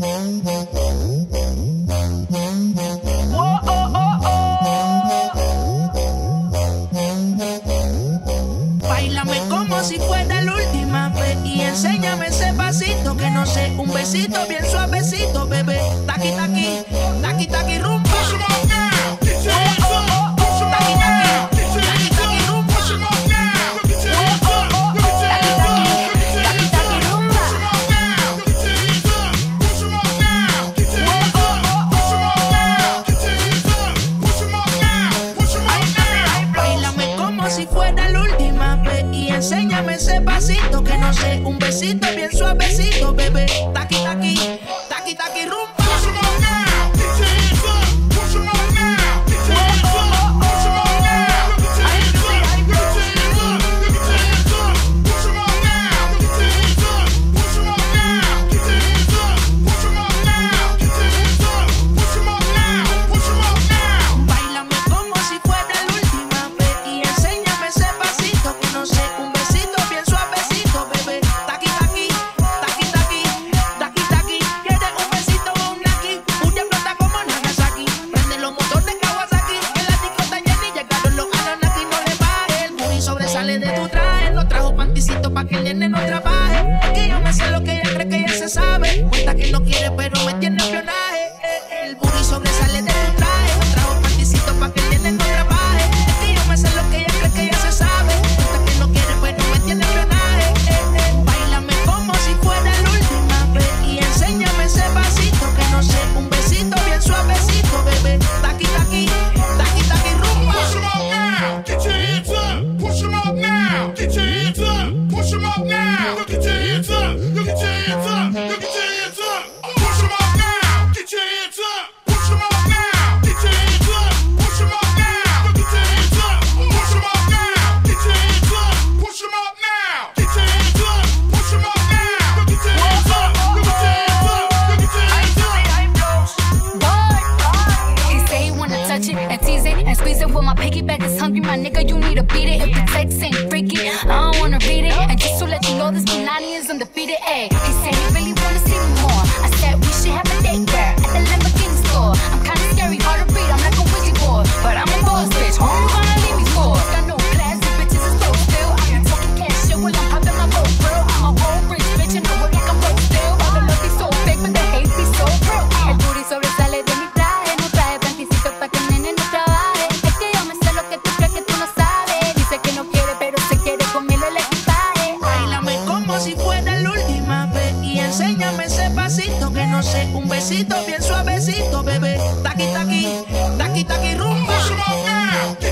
Oh, oh, oh, oh. Báilame como si fuera la última vez y enséñame ese pasito que no sé, un besito bien suavecito, bebé. Taqui, taqui, taqui, taqui, rumba. Si fuera la última vez y enséñame ese pasito que no sé, un besito bien suavecito, bebé. Taqui, taqui, taqui, taqui, rumba. Sale de tu traje, no trajo panticito pa' que el nene no trabaje. Es que yo me sé lo que ella cree que ella se sabe. Cuenta que no quiere pero me tiene espionaje. El booty sobresale de tu traje, no trajo panticito pa' que el nene no trabaje. Es que yo me sé lo que ella cree que ella se sabe. Cuenta que no quiere pero me tiene espionaje. Báilame como si fuera la última vez y enséñame ese pasito que no sé, un besito bien suavecito, bebé. Taqui, taqui, taqui, taqui, rumba. Push 'em up now, get your hands up. Push 'em up now, get your hands up. Push 'em up now, look at your hands up. Look at your hands up. Look at your hands up. Push 'em up now, get your hands up. Push 'em up now, get your hands up. Push 'em up now, look at your hands up. Push 'em up now, get your hands up. Push 'em up now, get your hands up. Push 'em up now, look at your hands up. Look at your hands up. Look at your hands up. He say he wanna touch it and tease it and squeeze it. Well, my piggyback is hungry, my nigga, you need to beat it. If the text ain't freaky, I don't wanna read it. And just to let you know, this Punani is undefeated. Ayy, he said he really wanna see me more. I said we should have a date there at the Lamborghini store. I'm kinda scary, hard to read, I'm like a Ouija board, but I'm a boss bitch. Who you gonna leave me for? Got no class, the bitches is broke still. I can talking cash shit while I'm popping my road, girl. I'm a whole rich bitch and I work like I'm broke still. All the love is so fake, but the hate be so real. El booty sobresale de mi traje, no trae panticito pa' que el nene no trabaje. Es que yo me sé lo que tú crees que tú no sabes. Dice que no quiere, pero se quiere comerle el equipaje. Báilame como si fuera la última vez y enséñame ese pasito que no sé, un besito bien suavecito, bebé. Taqui, taqui, taqui, taqui, rumba. Push 'em up now, get